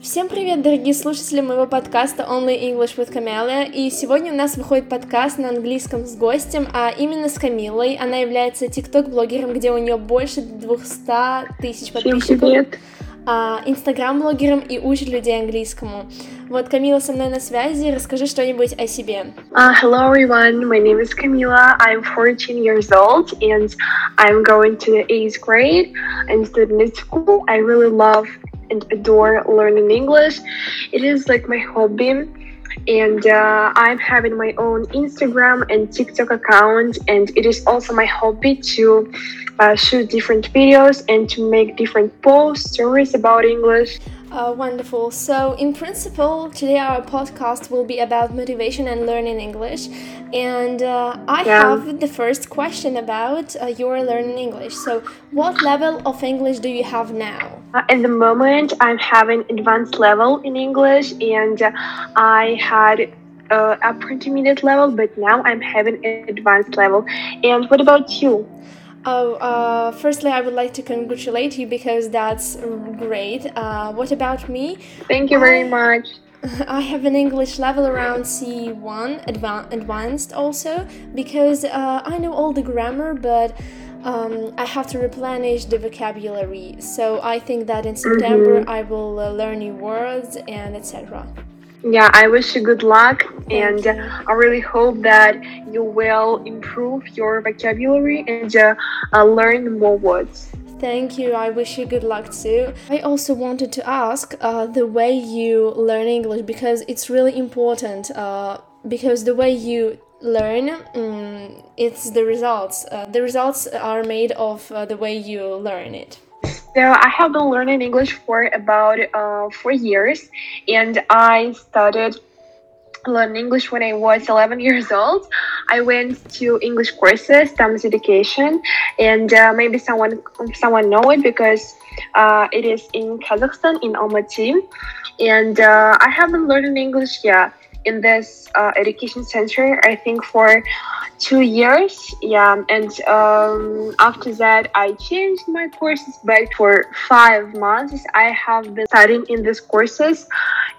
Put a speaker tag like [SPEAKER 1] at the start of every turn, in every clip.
[SPEAKER 1] Всем привет, дорогие слушатели моего подкаста Only English with Camelia. И сегодня у нас выходит подкаст на английском с гостем, а именно с Камилой. Она является тикток-блогером, где у нее больше 200 тысяч подписчиков.
[SPEAKER 2] Всем привет!
[SPEAKER 1] Инстаграм-блогером и учит людей английскому. Вот, Камила со мной на связи. Расскажи что-нибудь о себе.
[SPEAKER 2] Hello everyone, my name is Camila. I'm 14 years old and I'm going to the 8th grade. I'm studying at school. I really love and adore learning English. It is like my hobby. And I'm having my own Instagram and TikTok account, and it is also my hobby to shoot different videos and to make different posts, stories about English.
[SPEAKER 1] Wonderful. So, in principle, today our podcast will be about motivation and learning English. And I have the first question about your learning English. So, what level of English do you have now?
[SPEAKER 2] At the moment, I'm having advanced level in English, and I had a intermediate level, but now I'm having an advanced level. And what about you?
[SPEAKER 1] Firstly, I would like to congratulate you because that's great. What about me?
[SPEAKER 2] Thank you very much.
[SPEAKER 1] I have an English level around C1, advanced also, because I know all the grammar, but I have to replenish the vocabulary. So I think that in September I will learn new words and etc.
[SPEAKER 2] Yeah, I wish you good luck,
[SPEAKER 1] Thank
[SPEAKER 2] and
[SPEAKER 1] you.
[SPEAKER 2] I really hope that you will improve your vocabulary and learn more words.
[SPEAKER 1] Thank you. I wish you good luck too. I also wanted to ask the way you learn English, because it's really important. Because the way you learn, it's the results. The results are made of the way you learn it.
[SPEAKER 2] So I have been learning English for about 4 years, and I started learning English when I was 11 years old. I went to English courses, Tams Education, and maybe someone know it because it is in Kazakhstan, in Almaty. And I have been learning English, in this education center, I think for 2 years, and after that I changed my courses, but for 5 months I have been studying in these courses,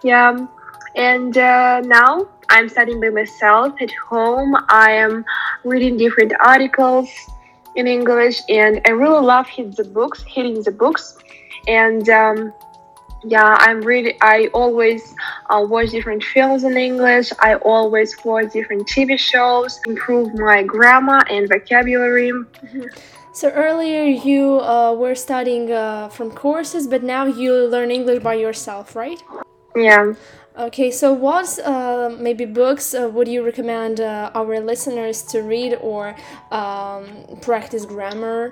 [SPEAKER 2] and now I'm studying by myself at home. I am reading different articles in English, and I really love reading the books, and I always watch different films in English. I always watch different TV shows, improve my grammar and vocabulary.
[SPEAKER 1] So earlier you were studying from courses, but now you learn English by yourself, right?
[SPEAKER 2] Yeah.
[SPEAKER 1] Okay, so what maybe books would you recommend our listeners to read or practice grammar?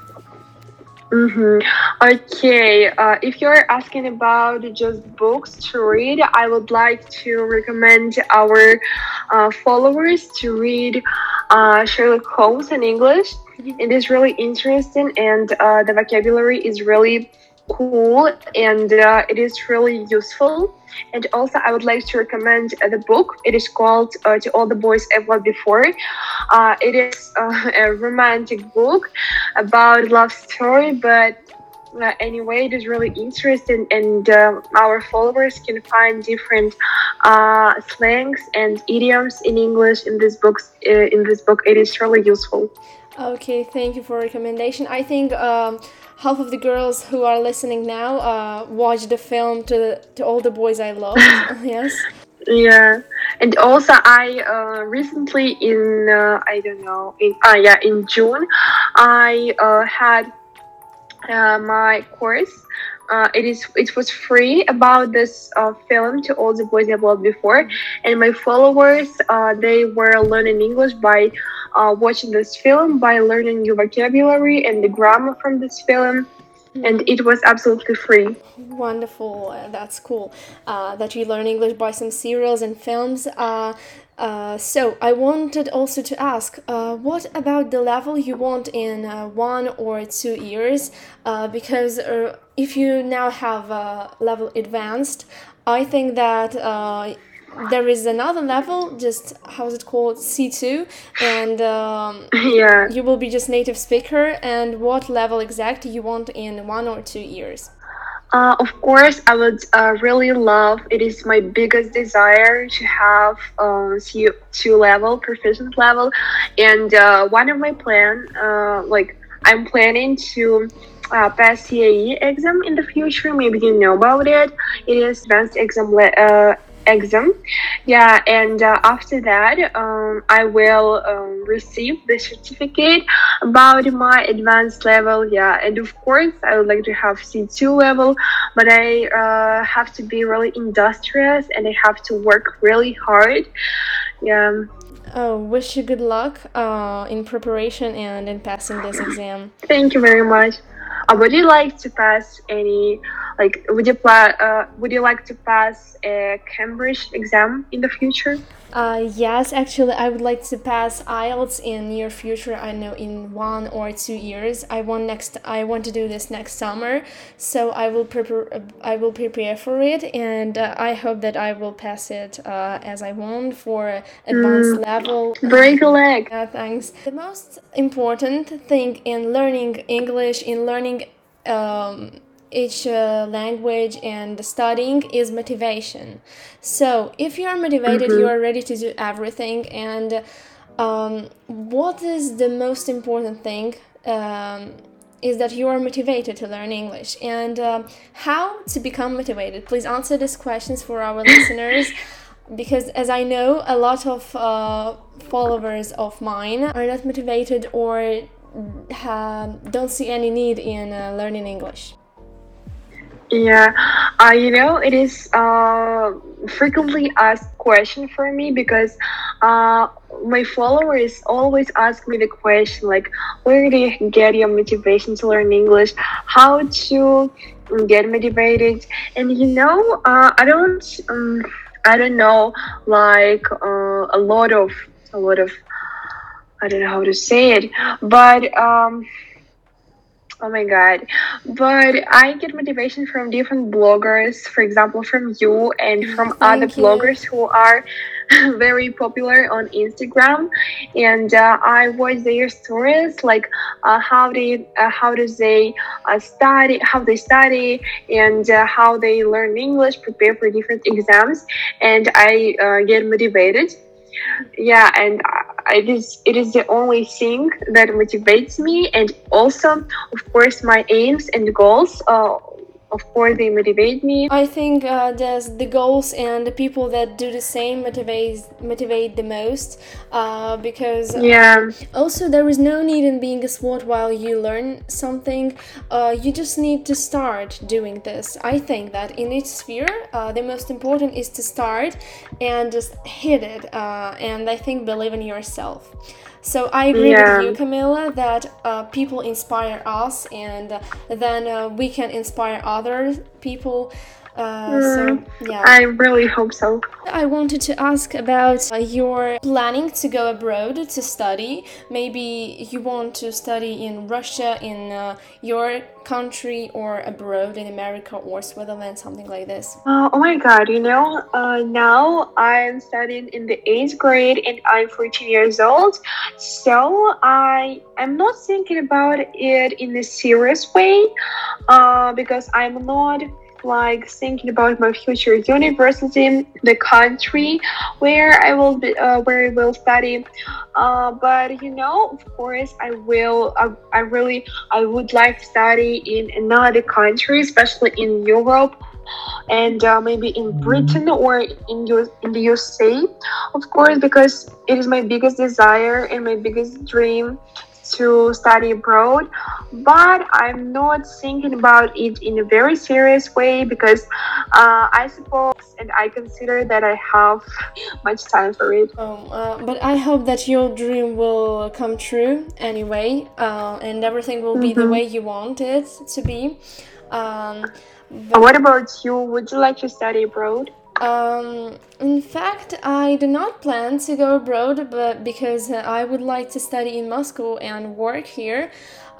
[SPEAKER 2] Okay, if you're asking about just books to read, I would like to recommend our followers to read Sherlock Holmes in English. It is really interesting, and the vocabulary is really cool, and it is really useful. And also I would like to recommend the book. It is called To All the Boys I've Loved Before. It is a romantic book about love story, but anyway, it is really interesting, and our followers can find different slangs and idioms in English in this book. It is really useful.
[SPEAKER 1] Okay, thank you for recommendation. I think half of the girls who are listening now watched the film to All the Boys I Loved. Yes.
[SPEAKER 2] Yeah, and also I recently in in June I had my course. It was free about this film To All the Boys I've Loved Before, and my followers they were learning English by watching this film, by learning new vocabulary and the grammar from this film, and it was absolutely free.
[SPEAKER 1] Wonderful, that's cool that you learn English by some serials and films. So I wanted also to ask, what about the level you want in 1 or 2 years? Because if you now have level advanced, I think that there is another level, just how's it called, C2, and you will be just native speaker. And what level exactly you want in 1 or 2 years?
[SPEAKER 2] Of course, I would really love. It is my biggest desire to have C2 level, proficient level, and one of my plan, like I'm planning to pass CAE exam in the future. Maybe you know about it. It is advanced exam. Yeah, and after that, I will receive the certificate about my advanced level. Yeah, and of course, I would like to have C2 level, but I have to be really industrious and I have to work really hard. Yeah.
[SPEAKER 1] Oh, wish you good luck in preparation and in passing this exam.
[SPEAKER 2] Thank you very much. Would you like to pass any, like, would you like to pass a Cambridge exam in the future?
[SPEAKER 1] Yes, actually, I would like to pass IELTS in near future. I know in 1 or 2 years. I want to do this next summer, so I will prepare. I will prepare for it, and I hope that I will pass it as I want for advanced level.
[SPEAKER 2] Break a leg.
[SPEAKER 1] Thanks. The most important thing in learning English, in learning each language and studying is motivation. So if you are motivated, you are ready to do everything. And what is the most important thing is that you are motivated to learn English. And how to become motivated? Please answer these questions for our listeners. Because as I know, a lot of followers of mine are not motivated or don't see any need in learning English.
[SPEAKER 2] Yeah, it is frequently asked question for me because my followers always ask me the question like, where do you get your motivation to learn English? How to get motivated? And I don't know, like a lot of, I don't know how to say it, but oh my God. But I get motivation from different bloggers, for example, from you and from other
[SPEAKER 1] Thank you.
[SPEAKER 2] bloggers who are very popular on Instagram. And I watch their stories, like how does they study, how they study, and how they learn English, prepare for different exams, and I get motivated. Yeah, and it is the only thing that motivates me, and also of course my aims and goals, of course they motivate me.
[SPEAKER 1] I think the goals and the people that do the same motivate the most because
[SPEAKER 2] Yeah.
[SPEAKER 1] also there is no need in being a SWOT while you learn something. You just need to start doing this. I think that in each sphere, the most important is to start and just hit it. And I think believe in yourself. So I agree with you, Camilla, that people inspire us, and then we can inspire other people. So yeah.
[SPEAKER 2] I really hope so.
[SPEAKER 1] I wanted to ask about your planning to go abroad to study. Maybe you want to study in Russia, in your country, or abroad in America or Switzerland, something like this.
[SPEAKER 2] Oh my God, now I'm studying in the 8th grade and I'm 14 years old. So I'm not thinking about it in a serious way because I'm not like thinking about my future university, the country where I will be, where I will study. But of course, I will. I would like to study in another country, especially in Europe, and maybe in Britain or in the USA, of course, because it is my biggest desire and my biggest dream to study abroad. But I'm not thinking about it in a very serious way because I suppose and I consider that I have much time for it.
[SPEAKER 1] But I hope that your dream will come true anyway, and everything will be the way you want it to be.
[SPEAKER 2] What about you? Would you like to study abroad?
[SPEAKER 1] In fact, I do not plan to go abroad, but because I would like to study in Moscow and work here.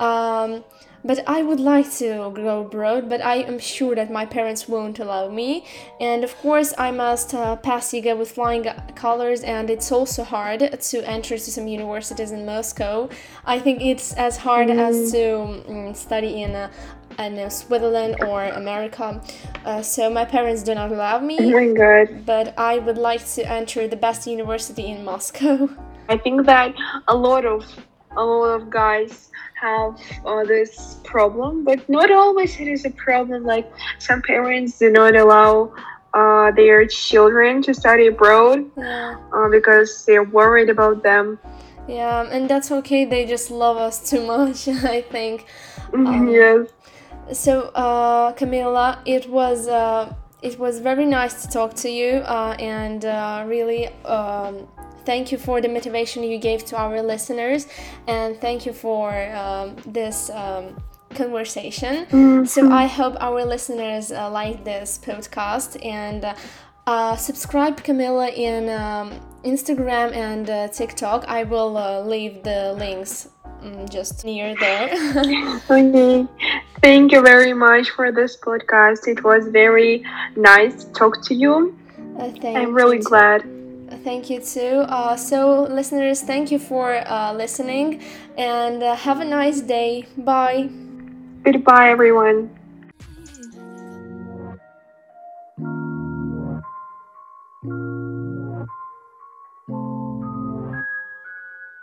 [SPEAKER 1] But I would like to go abroad, but I am sure that my parents won't allow me. And of course, I must pass SIGA with flying colors, and it's also hard to enter to some universities in Moscow. I think it's as hard as to study in I don't know, Switzerland or America. So my parents do not allow
[SPEAKER 2] Oh
[SPEAKER 1] me,
[SPEAKER 2] my God.
[SPEAKER 1] but I would like to enter the best university in Moscow.
[SPEAKER 2] I think that a lot of guys have this problem, but not always it is a problem. Like some parents do not allow their children to study abroad
[SPEAKER 1] Yeah.
[SPEAKER 2] because they're worried about them.
[SPEAKER 1] Yeah, and that's okay. They just love us too much, I think.
[SPEAKER 2] Yes.
[SPEAKER 1] So, Camila, it was very nice to talk to you, and really thank you for the motivation you gave to our listeners, and thank you for this conversation. So I hope our listeners like this podcast, and subscribe Camila in Instagram and TikTok. I will leave the links just near there.
[SPEAKER 2] Okay. Thank you very much for this podcast. It was very nice to talk to you. I'm really glad.
[SPEAKER 1] Thank you too. So, listeners, thank you for listening, and have a nice day. Bye.
[SPEAKER 2] Goodbye, everyone.